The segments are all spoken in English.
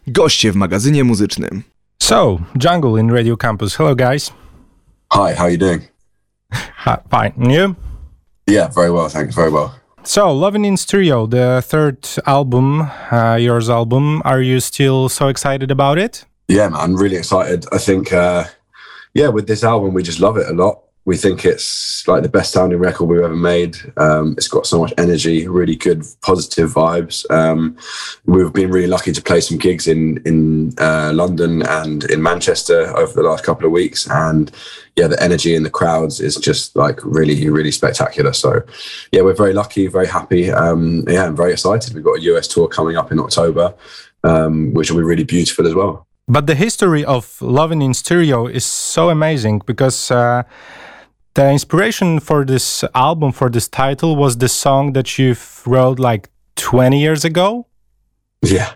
Goście w magazynie muzycznym. So, Jungle in Radio Campus. Hello, guys. Hi, how are you doing? Fine. And you? Yeah, very well, thanks. Very well. So, Lovin' in Stereo, the third album, yours album. Are you still so excited about it? Yeah, man, I'm really excited. I think, with this album, we just love it a lot. We think it's like the best sounding record we've ever made. It's got so much energy, really good, positive vibes. We've been really lucky to play some gigs in London and in Manchester over the last couple of weeks. And yeah, the energy in the crowds is just like really, really spectacular. So yeah, we're very lucky, very happy. I'm very excited. We've got a US tour coming up in October, which will be really beautiful as well. But the history of Lovin' in Stereo is so amazing because the inspiration for this album, for this title, was the song that you wrote like 20 years ago? Yeah.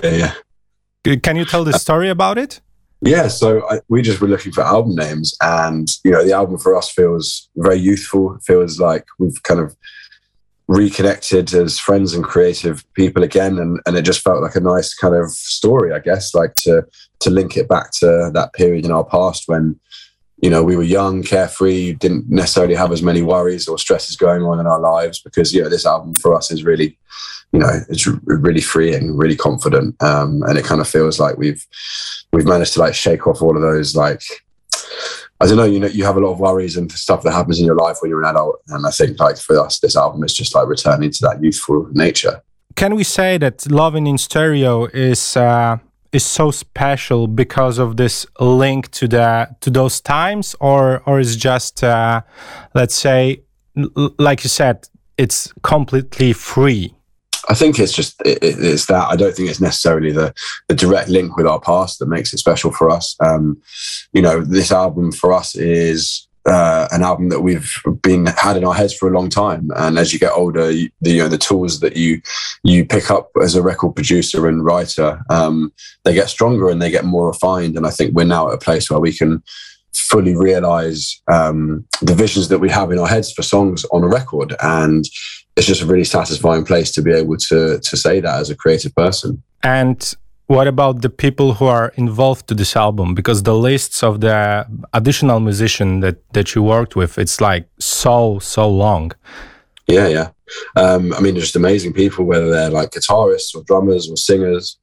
Can you tell the story about it? Yeah, so we just were looking for album names, and the album for us feels very youthful. Feels like we've kind of reconnected as friends and creative people again, and it just felt like a nice kind of story, I guess, like to link it back to that period in our past when we were young, carefree, didn't necessarily have as many worries or stresses going on in our lives, because this album for us is really it's really freeing, really confident, and it kind of feels like we've managed to like shake off all of those, like, I don't know, you have a lot of worries and stuff that happens in your life when you're an adult, and I think like for us this album is just like returning to that youthful nature. Can we say that Lovin' in Stereo is so special because of this link to those times, or is just let's say, like you said, it's completely free? I think it's just it's that. I don't think it's necessarily the direct link with our past that makes it special for us. This album for us is an album that we've had in our heads for a long time, and as you get older, the tools that you pick up as a record producer and writer, they get stronger and they get more refined. And I think we're now at a place where we can fully realize the visions that we have in our heads for songs on a record, and it's just a really satisfying place to be able to say that as a creative person. And what about the people who are involved to this album? Because the lists of the additional musicians that you worked with, it's like so long. Yeah. Just amazing people, whether they're like guitarists or drummers or singers.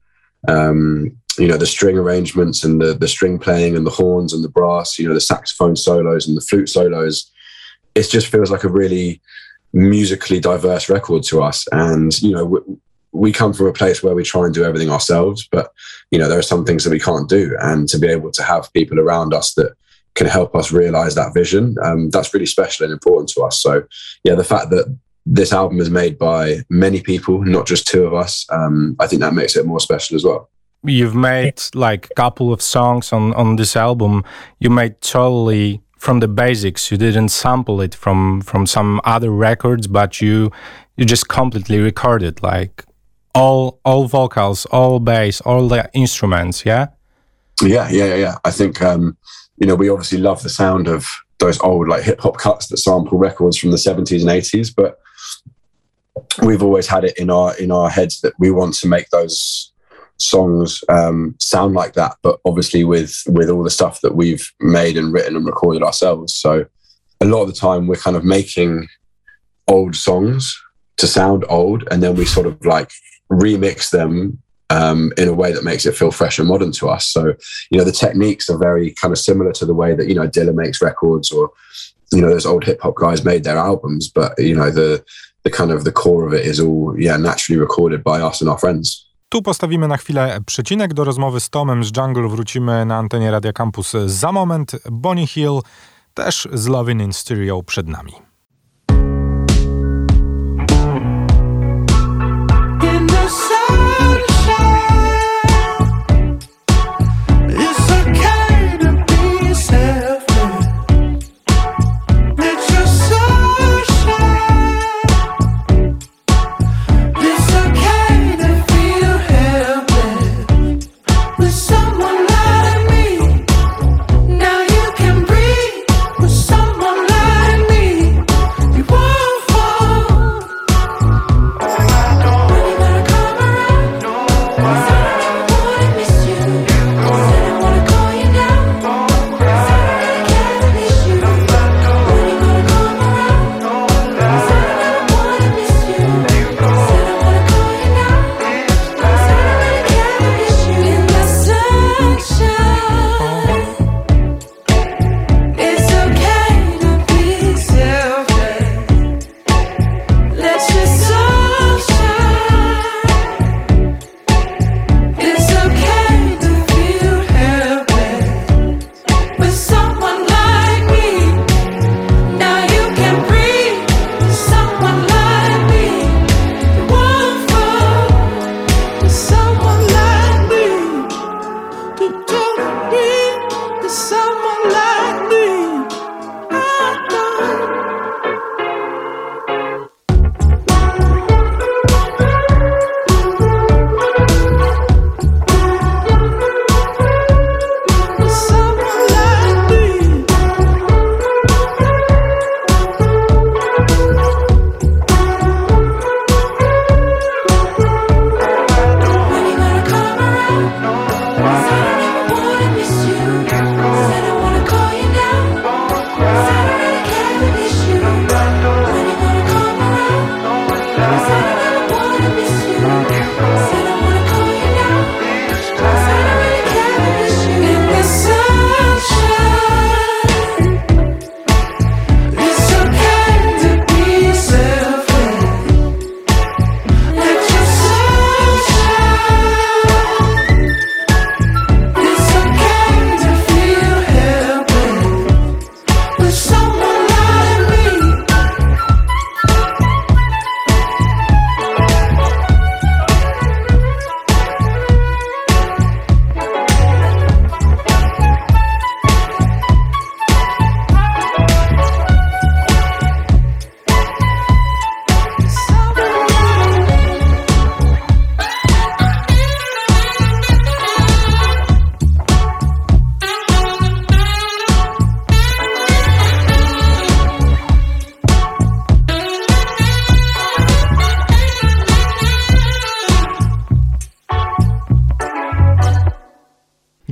The string arrangements and the string playing and the horns and the brass, the saxophone solos and the flute solos. It just feels like a really musically diverse record to us. And, we come from a place where we try and do everything ourselves, but, there are some things that we can't do. And to be able to have people around us that can help us realize that vision, that's really special and important to us. So, yeah, the fact that this album is made by many people, not just two of us, I think that makes it more special as well. You've made like a couple of songs on this album. You made totally from the basics. You didn't sample it from some other records, but you just completely recorded like all vocals, all bass, all the instruments. Yeah. I think we obviously love the sound of those old like hip hop cuts that sample records from the 70s and 80s, but we've always had it in our heads that we want to make those songs sound like that, but obviously with all the stuff that we've made and written and recorded ourselves. So a lot of the time we're kind of making old songs to sound old, and then we sort of like remix them in a way that makes it feel fresh and modern to us. So the techniques are very kind of similar to the way that Dilla makes records, or those old hip hop guys made their albums, but the kind of the core of it is all naturally recorded by us and our friends. Tu postawimy na chwilę przecinek. Do rozmowy z Tomem z Jungle wrócimy na antenie Radia Campus za moment. Bonnie Hill też z Lovin' in Stereo przed nami. Now you can breathe with someone like me.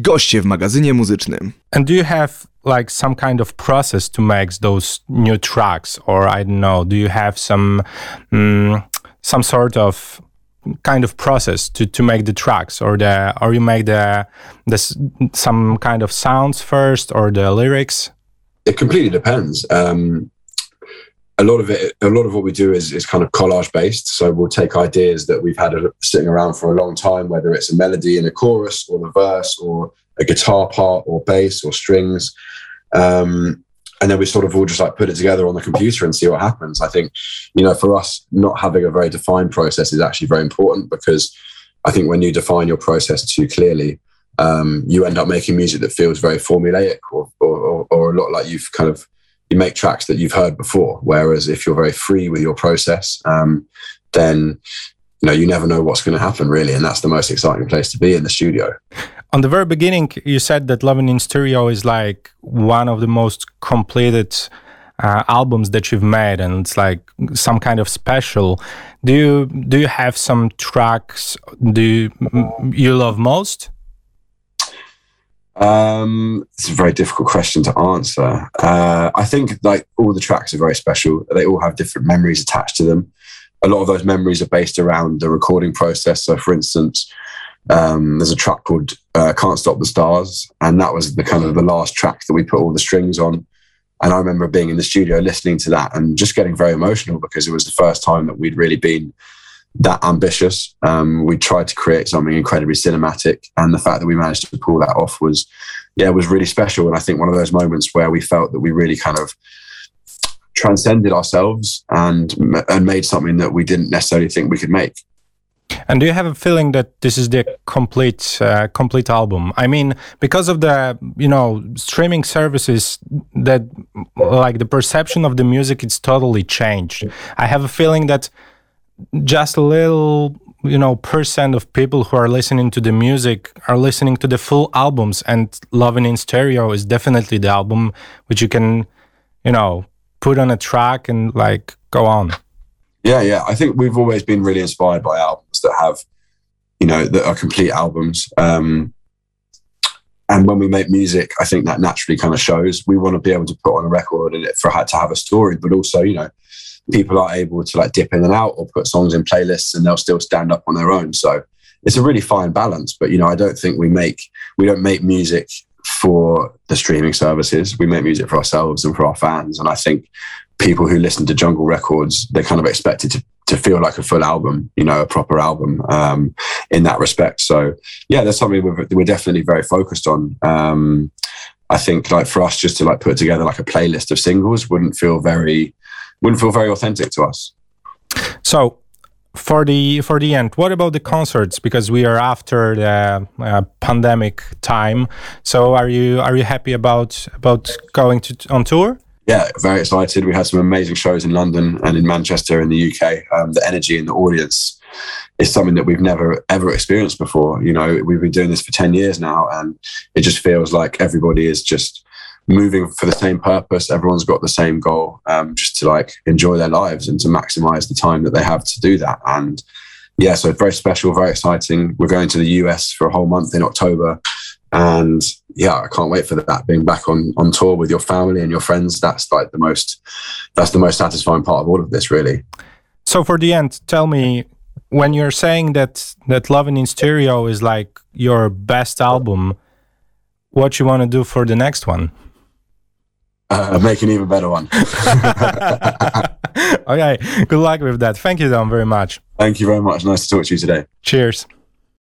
Goście w magazynie muzycznym. And do you have like some kind of process to make those new tracks, or I don't know, do you have some sort of kind of process to make the tracks, or you make the some kind of sounds first, or the lyrics? It completely depends. A lot of what we do is kind of collage based. So we'll take ideas that we've had sitting around for a long time, whether it's a melody in a chorus or the verse or a guitar part or bass or strings. And then we sort of all just like put it together on the computer and see what happens. I think, for us, not having a very defined process is actually very important, because I think when you define your process too clearly, you end up making music that feels very formulaic or a lot like you make tracks that you've heard before. Whereas if you're very free with your process, then you never know what's going to happen, really. And that's the most exciting place to be, in the studio. On the very beginning, you said that Lovin' in Stereo is like one of the most completed albums that you've made, and it's like some kind of special. Do you have some tracks you love most? It's a very difficult question to answer. I think like all the tracks are very special. They all have different memories attached to them. A lot of those memories are based around the recording process. So, for instance, there's a track called Can't Stop the Stars, and that was the kind of the last track that we put all the strings on. And I remember being in the studio listening to that and just getting very emotional, because it was the first time that we'd really been that ambitious. We tried to create something incredibly cinematic, and the fact that we managed to pull that off was really special. And I think one of those moments where we felt that we really kind of transcended ourselves and made something that we didn't necessarily think we could make. And do you have a feeling that this is the complete album? I mean, because of the streaming services, that like the perception of the music is totally changed. I have a feeling that just a little percent of people who are listening to the music are listening to the full albums, and Lovin' in Stereo is definitely the album which you can put on a track and like go on. Yeah. I think we've always been really inspired by albums that have, that are complete albums. And when we make music, I think that naturally kind of shows. We want to be able to put on a record and for it to have a story, but also, people are able to like dip in and out or put songs in playlists and they'll still stand up on their own. So it's a really fine balance. But, I don't think we don't make music for the streaming services. We make music for ourselves and for our fans. And I think people who listen to Jungle Records, they're kind of expected to feel like a full album, a proper album in that respect. So yeah, that's something we're definitely very focused on. I think like for us just to like put together like a playlist of singles wouldn't feel very authentic to us. So for the end, what about the concerts? Because we are after the pandemic time. So are you happy about going on tour? Yeah, very excited. We had some amazing shows in London and in Manchester in the UK. The energy in the audience is something that we've never ever experienced before. We've been doing this for 10 years now, and it just feels like everybody is just moving for the same purpose. Everyone's got the same goal, just to like enjoy their lives and to maximize the time that they have to do that. And yeah, so it's very special, very exciting. We're going to the US for a whole month in October. And yeah, I can't wait for that. Being back on tour with your family and your friends, that's the most satisfying part of all of this, really. So for the end, tell me, when you're saying that Lovin' in Stereo is like your best album, what you want to do for the next one? Make an even better one. Okay, good luck with that. Thank you, Dom, very much. Thank you very much. Nice to talk to you today. Cheers.